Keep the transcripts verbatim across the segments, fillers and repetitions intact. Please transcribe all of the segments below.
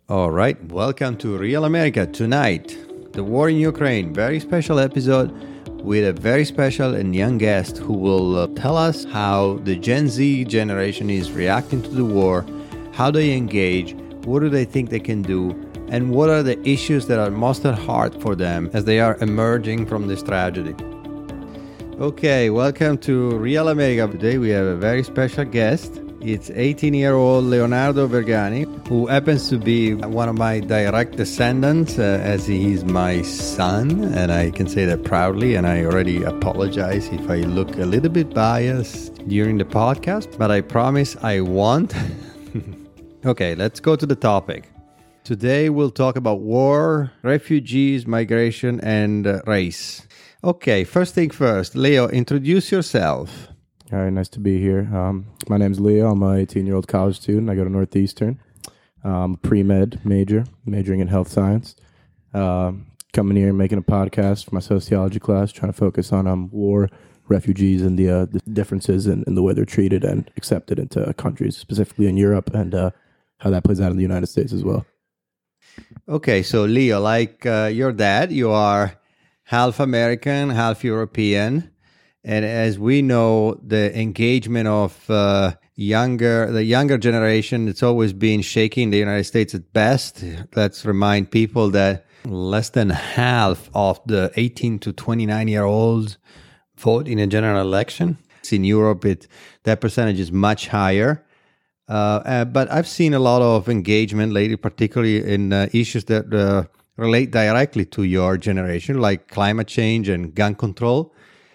All right, welcome to Real America. Tonight, the war in Ukraine. Very special episode with a very special and young guest who will uh, tell us how the Gen Z generation is reacting to the war, how they engage, what do they think they can do, and what are the issues that are most at heart for them as they are emerging from this tragedy. Okay, welcome to Real America. Today we have a very special guest. It's eighteen-year-old Leonardo Vergani, who happens to be one of my direct descendants, uh, as he is my son, and I can say that proudly, and I already apologize if I look a little bit biased during the podcast, but I promise I won't. Okay, let's go to the topic. Today we'll talk about war, refugees, migration, and uh, race. Okay, first thing first, Leo, introduce yourself. All right, nice to be here. Um, my name's Leo. I'm an eighteen-year-old college student. I go to Northeastern. I'm a pre-med major, majoring in health science. Uh, coming here and making a podcast for my sociology class, trying to focus on um, war, refugees, and the, uh, the differences in, in the way they're treated and accepted into countries, specifically in Europe, and uh, how that plays out in the United States as well. Okay, so Leo, like uh, your dad, you are half American, half European. And as we know, the engagement of uh, younger, the younger generation, it's always been shaky in the United States at best. Let's remind people that less than half of the eighteen to twenty-nine year olds vote in a general election. In Europe, it that percentage is much higher. Uh, uh, but I've seen a lot of engagement lately, particularly in uh, issues that uh, relate directly to your generation, like climate change and gun control.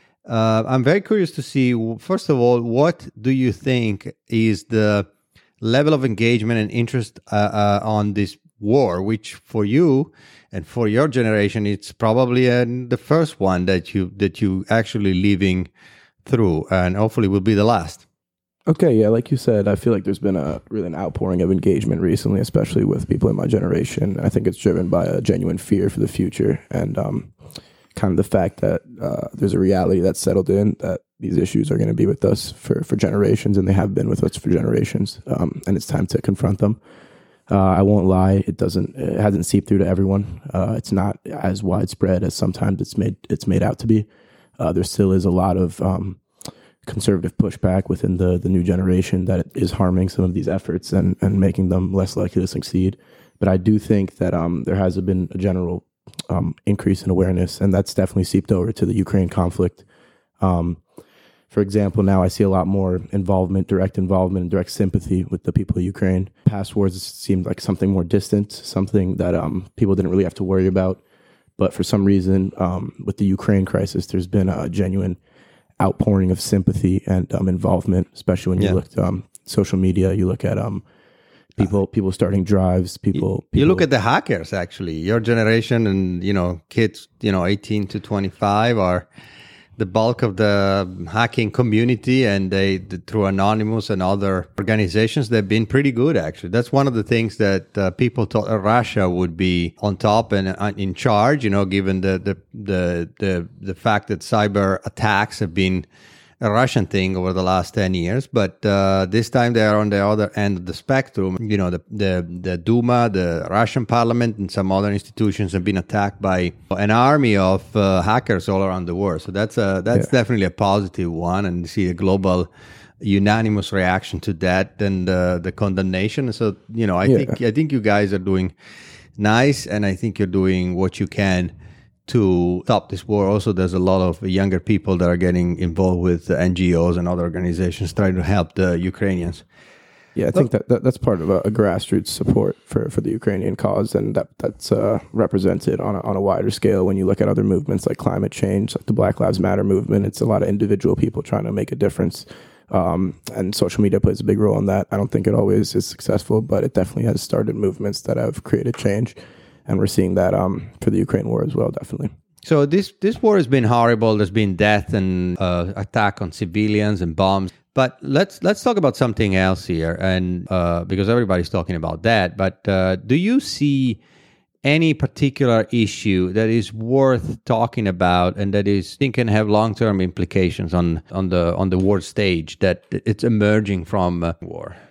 Uh, I'm very curious to see, first of all, what do you think is the level of engagement and interest uh, uh, on this war, which for you and for your generation, it's probably uh, the first one that you that you actually living through, and hopefully will be the last. Okay, yeah, like you said, I feel like there's been a really an outpouring of engagement recently, especially with people in my generation. I think it's driven by a genuine fear for the future and um, kind of the fact that uh, there's a reality that's settled in that these issues are going to be with us for, for generations, and they have been with us for generations, um, and it's time to confront them. Uh, I won't lie, it doesn't, it hasn't seeped through to everyone. Uh, it's not as widespread as sometimes it's made it's made out to be. Uh, there still is a lot of um, conservative pushback within the the new generation that is harming some of these efforts and, and making them less likely to succeed. But I do think that um, there has been a general um, increase in awareness, and that's definitely seeped over to the Ukraine conflict. Um, for example, now I see a lot more involvement, direct involvement and direct sympathy with the people of Ukraine. Past wars seemed like something more distant, something that um, people didn't really have to worry about. But for some reason, um, with the Ukraine crisis, there's been a genuine outpouring of sympathy and um, involvement, especially when you yeah. look at um, social media, you look at um, people people starting drives, people, people... You look at the hackers, actually. Your generation and, you know, kids, you know, eighteen to twenty-five are the bulk of the hacking community, and they, through Anonymous and other organizations, they've been pretty good, actually. That's one of the things that uh, people thought Russia would be on top and uh, in charge, you know, given the, the, the, the, the fact that cyber attacks have been a Russian thing over the last ten years. But uh, this time they are on the other end of the spectrum. You know, the, the, the Duma, the Russian parliament, and some other institutions have been attacked by an army of uh, hackers all around the world. So that's a, that's yeah. definitely a positive one. And you see a global unanimous reaction to that and uh, the condemnation. So, you know, I yeah. think I think you guys are doing nice, and I think you're doing what you can to stop this war. Also, there's a lot of younger people that are getting involved with N G Os and other organizations trying to help the Ukrainians. Yeah, I think that, that that's part of a, a grassroots support for, for the Ukrainian cause, and that that's uh, represented on a, on a wider scale when you look at other movements like climate change, like the Black Lives Matter movement. It's a lot of individual people trying to make a difference, um, and social media plays a big role in that. I don't think it always is successful, but it definitely has started movements that have created change. And we're seeing that um, for the Ukraine war as well, definitely. So this this war has been horrible. There's been death and uh, attack on civilians and bombs. But let's let's talk about something else here, and uh, because everybody's talking about that. But uh, do you see any particular issue that is worth talking about and that is think can have long-term implications on on the on the world stage that it's emerging from uh, war?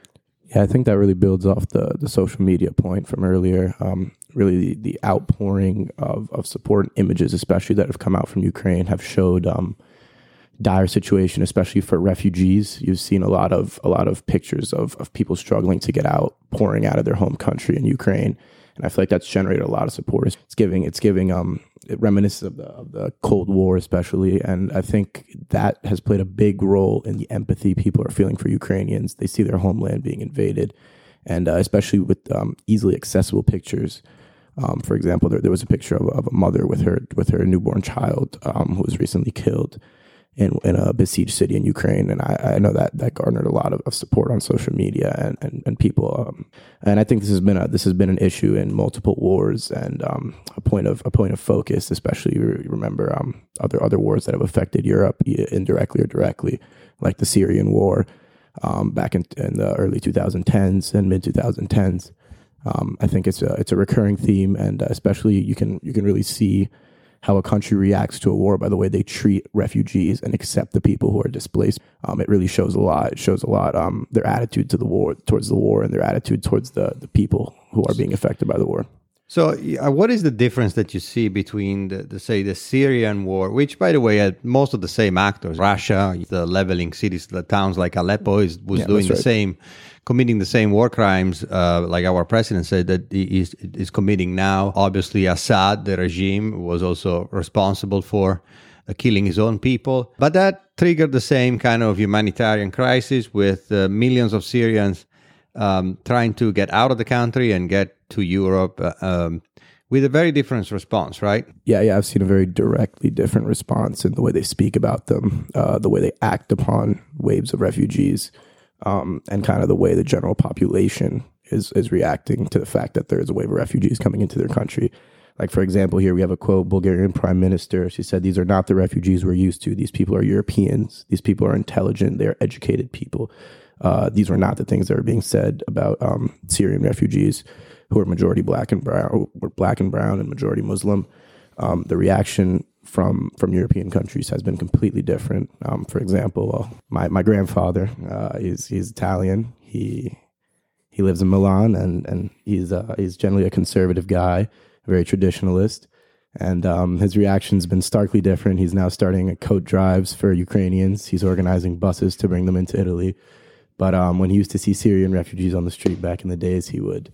Yeah, I think that really builds off the the social media point from earlier. Um, really, the, the outpouring of, of support and images, especially that have come out from Ukraine, have showed um, dire situation, especially for refugees. You've seen a lot of a lot of pictures of of people struggling to get out, pouring out of their home country in Ukraine, and I feel like that's generated a lot of support. It's giving it's giving um it reminisces of the of the Cold War, especially, and I think that has played a big role in the empathy people are feeling for Ukrainians. They see their homeland being invaded, and uh, especially with um, easily accessible pictures. Um, for example, there, there was a picture of, of a mother with her with her newborn child um, who was recently killed in, in a besieged city in Ukraine. And I, I know that that garnered a lot of, of support on social media and, and, and people. Um, and I think this has been a, this has been an issue in multiple wars and um, a point of a point of focus, especially you remember um, other other wars that have affected Europe indirectly or directly, like the Syrian war um, back in, in the early twenty tens and mid twenty tens. Um, I think it's a it's a recurring theme, and especially you can you can really see how a country reacts to a war by the way they treat refugees and accept the people who are displaced. Um, it really shows a lot. It shows a lot um, their attitude to the war, towards the war, and their attitude towards the, the people who are being affected by the war. So, uh, what is the difference that you see between the, the say the Syrian war, which, by the way, had most of the same actors? Russia, the leveling cities, the towns like Aleppo, is was yeah, doing the right. same, committing the same war crimes, uh, like our president said that he is, is committing now. Obviously, Assad, the regime, was also responsible for uh, killing his own people. But that triggered the same kind of humanitarian crisis with uh, millions of Syrians um, trying to get out of the country and get to Europe uh, um, with a very different response, right? Yeah, yeah, I've seen a very directly different response in the way they speak about them, uh, the way they act upon waves of refugees. Um, and kind of the way the general population is is reacting to the fact that there is a wave of refugees coming into their country. Like, for example, here we have a quote, Bulgarian prime minister. She said, "These are not the refugees we're used to. These people are Europeans. These people are intelligent. They are educated people. Uh, these were not the things that are being said about um, Syrian refugees who are majority black and brown, were black and brown and majority Muslim." Um, the reaction from from European countries has been completely different. Um, for example, uh, my my grandfather, uh, he's he's Italian. He he lives in Milan, and and he's uh, he's generally a conservative guy, very traditionalist. And um, his reaction's been starkly different. He's now starting coat drives for Ukrainians. He's organizing buses to bring them into Italy. But um, when he used to see Syrian refugees on the street back in the days, he would.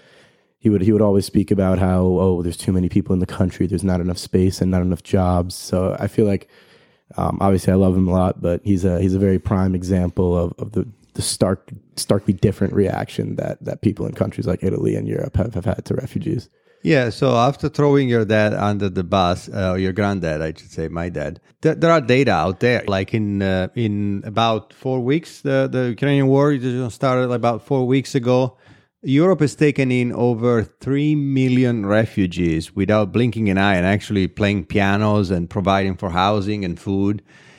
He would he would always speak about how, oh, there's too many people in the country, there's not enough space and not enough jobs. So I feel like, um, obviously I love him a lot, but he's a he's a very prime example of, of the, the stark starkly different reaction that, that people in countries like Italy and Europe have, have had to refugees. Yeah, so after throwing your dad under the bus, uh, your granddad, I should say, my dad, th- there are data out there. Like in uh, in about four weeks, the, the Ukrainian war started about four weeks ago. Europe has taken in over three million refugees without blinking an eye and actually playing pianos and providing for housing and food.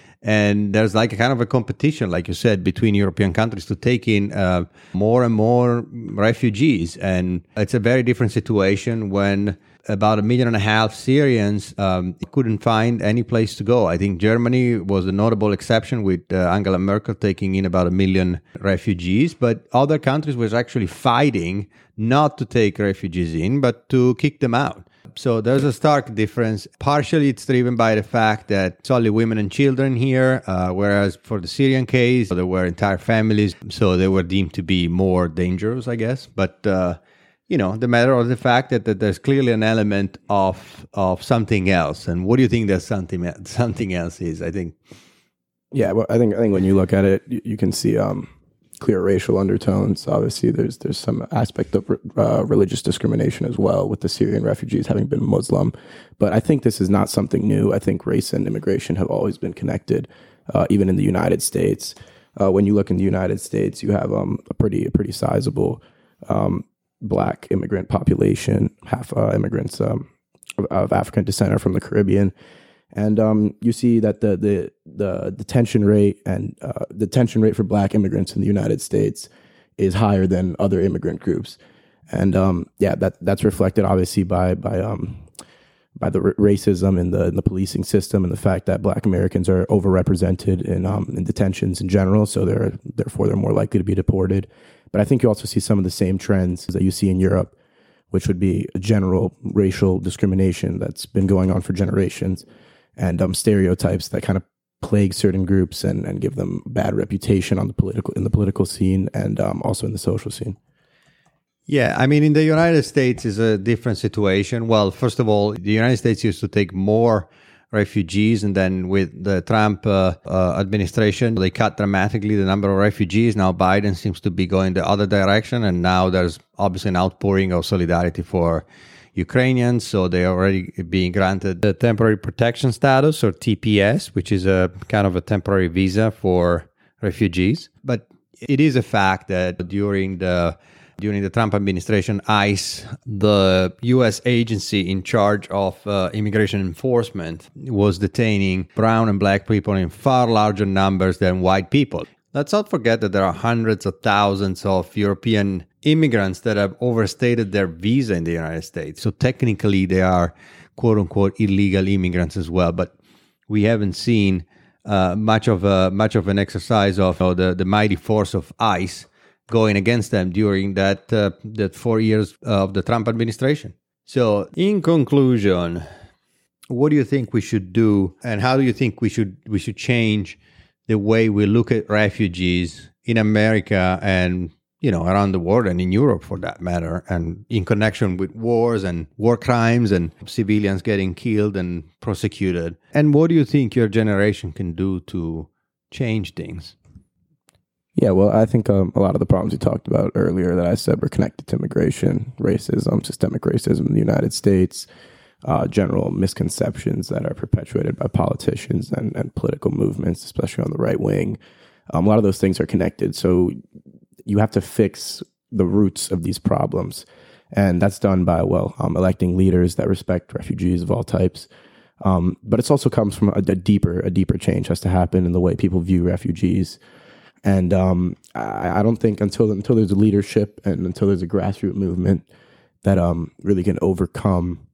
And there's like a kind of a competition, like you said, between European countries to take in uh, more and more refugees. And it's a very different situation when about a million and a half Syrians um, couldn't find any place to go. I think Germany was a notable exception with uh, Angela Merkel taking in about a million refugees, but other countries were actually fighting not to take refugees in, but to kick them out. So there's a stark difference. Partially, it's driven by the fact that it's only women and children here, uh, whereas for the Syrian case, there were entire families, so they were deemed to be more dangerous, I guess. But uh, you know, the matter of the fact that, that there's clearly an element of of something else. And what do you think that something something else is? I think. Yeah, well, I think I think when you look at it, you, you can see um, clear racial undertones. Obviously, there's there's some aspect of uh, religious discrimination as well, with the Syrian refugees having been Muslim. But I think this is not something new. I think race and immigration have always been connected, uh, even in the United States. Uh, when you look in the United States, you have um, a pretty a pretty sizable Um, Black immigrant population, half uh, immigrants um, of, of African descent are from the Caribbean, and um, you see that the the the detention rate and uh, detention rate for Black immigrants in the United States is higher than other immigrant groups, and um, yeah, that that's reflected obviously by by um, by the r- racism in the in the policing system and the fact that Black Americans are overrepresented in um, in detentions in general, so they're therefore they're more likely to be deported. But I think you also see some of the same trends that you see in Europe, which would be a general racial discrimination that's been going on for generations, and um, stereotypes that kind of plague certain groups and, and give them bad reputation on the political in the political scene and um, also in the social scene. Yeah, I mean, in the United States is a different situation. Well, first of all, the United States used to take more refugees, and then with the Trump uh, uh, administration, they cut dramatically the number of refugees. Now Biden seems to be going the other direction, and now there's obviously an outpouring of solidarity for Ukrainians, so they are already being granted the temporary protection status, or T P S, which is a kind of a temporary visa for refugees. But it is a fact that during the During the Trump administration, ICE, the U S agency in charge of uh, immigration enforcement, was detaining brown and black people in far larger numbers than white people. Let's not forget that there are hundreds of thousands of European immigrants that have overstayed their visa in the United States. So technically, they are quote-unquote illegal immigrants as well. But we haven't seen uh, much of a, much of an exercise of uh, the, the mighty force of ICE going against them during that uh, that four years of the Trump administration. So, in conclusion, what do you think we should do, and how do you think we should we should change the way we look at refugees in America and, you know, around the world, and in Europe for that matter, and in connection with wars and war crimes and civilians getting killed and prosecuted? And what do you think your generation can do to change things? Yeah, well, I think um, a lot of the problems you talked about earlier that I said were connected to immigration, racism, systemic racism in the United States, uh, general misconceptions that are perpetuated by politicians and, and political movements, especially on the right wing. Um, a lot of those things are connected. So you have to fix the roots of these problems. And that's done by, well, um, electing leaders that respect refugees of all types. Um, but it also comes from a, a deeper, a deeper change has to happen in the way people view refugees. And um, I, I don't think until until there's a leadership and until there's a grassroots movement that um, really can overcome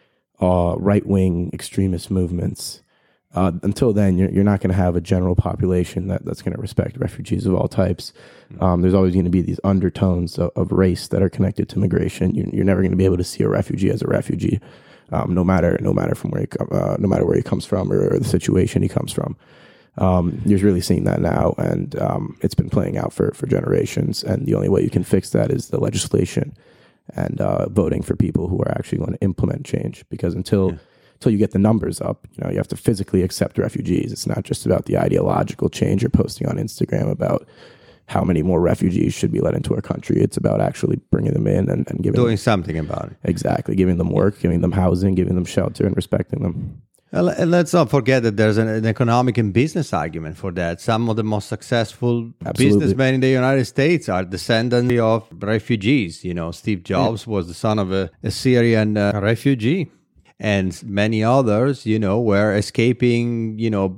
uh, right-wing extremist movements, uh, until then, you're, you're not going to have a general population that, that's going to respect refugees of all types. Um, there's always going to be these undertones of, of race that are connected to migration. You, you're never going to be able to see a refugee as a refugee, um, no matter no matter from where he, uh, no matter where he comes from or, or the situation he comes from. Um, you're really seeing that now, and um, it's been playing out for, for generations. And the only way you can fix that is the legislation and uh, voting for people who are actually going to implement change. Because until yeah. until you get the numbers up, you know, you have to physically accept refugees. It's not just about the ideological change you're posting on Instagram about how many more refugees should be let into our country. It's about actually bringing them in and, and giving doing them, something about it. Exactly, giving them work, giving them housing, giving them shelter, and respecting them. And let's not forget that there's an, an economic and business argument for that. Some of the most successful Absolutely. businessmen in the United States are descendants of refugees. You know, Steve Jobs yeah. was the son of a, a Syrian uh, refugee. And many others, you know, were escaping, you know,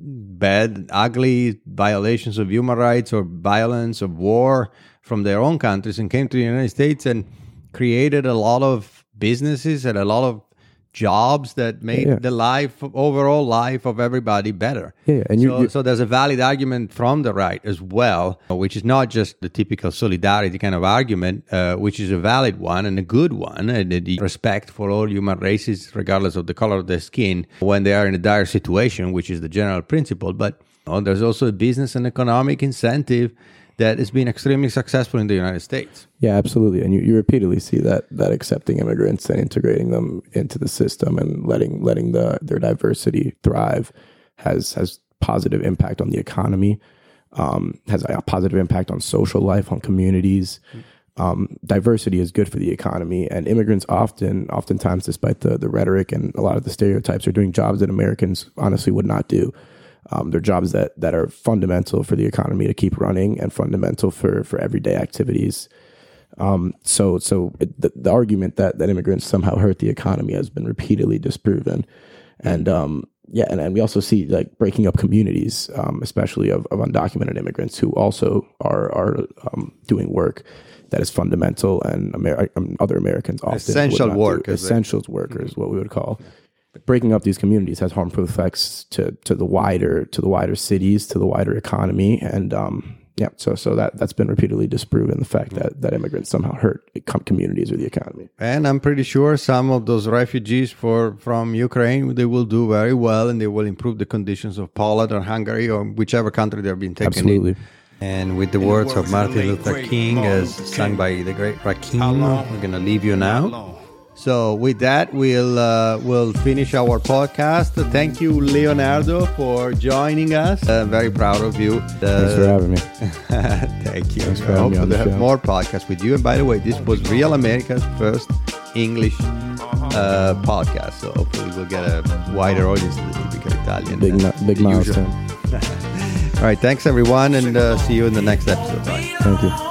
bad, ugly violations of human rights or violence of war from their own countries and came to the United States and created a lot of businesses and a lot of jobs that made yeah. the life, overall life of everybody better. Yeah, and so, you, so there's a valid argument from the right as well, which is not just the typical solidarity kind of argument, uh, which is a valid one and a good one, and the respect for all human races, regardless of the color of their skin, when they are in a dire situation, which is the general principle. But you know, there's also a business and economic incentive that has been extremely successful in the United States. Yeah, absolutely. And you, you repeatedly see that that accepting immigrants and integrating them into the system and letting letting the their diversity thrive has has positive impact on the economy, um, has a positive impact on social life, on communities. Um, diversity is good for the economy, and immigrants often, oftentimes, despite the, the rhetoric and a lot of the stereotypes, are doing jobs that Americans honestly would not do. Um, they're jobs that, that are fundamental for the economy to keep running and fundamental for, for everyday activities. Um, so so it, the, the argument that, that immigrants somehow hurt the economy has been repeatedly disproven. And um, yeah, and, and we also see like breaking up communities, um, especially of, of undocumented immigrants who also are, are um, doing work that is fundamental and Amer- other Americans often essential work, essentials workers, what we would call. Breaking up these communities has harmful effects to, to the wider to the wider cities, to the wider economy, and um, yeah, so so that that's been repeatedly disproven, the fact that that immigrants somehow hurt communities or the economy. And I'm pretty sure some of those refugees for from Ukraine, they will do very well, and they will improve the conditions of Poland or Hungary or whichever country they're being taken Absolutely. in. And with the words of Martin Luther King, as sung by the great Rakim, we're going to leave you now. So with that, we'll uh, we'll finish our podcast. Thank you, Leonardo, for joining us. Uh, very proud of you. Uh, Thanks for having me. Thank you. Thanks for I hope having me on to the have show. more podcasts with you. And by the way, this was Real America's first English uh, podcast. So hopefully we'll get a wider audience than the typical Italian. Big, uh, big the usual. milestone. All right. Thanks, everyone, and uh, see you in the next episode. Bye. Thank you.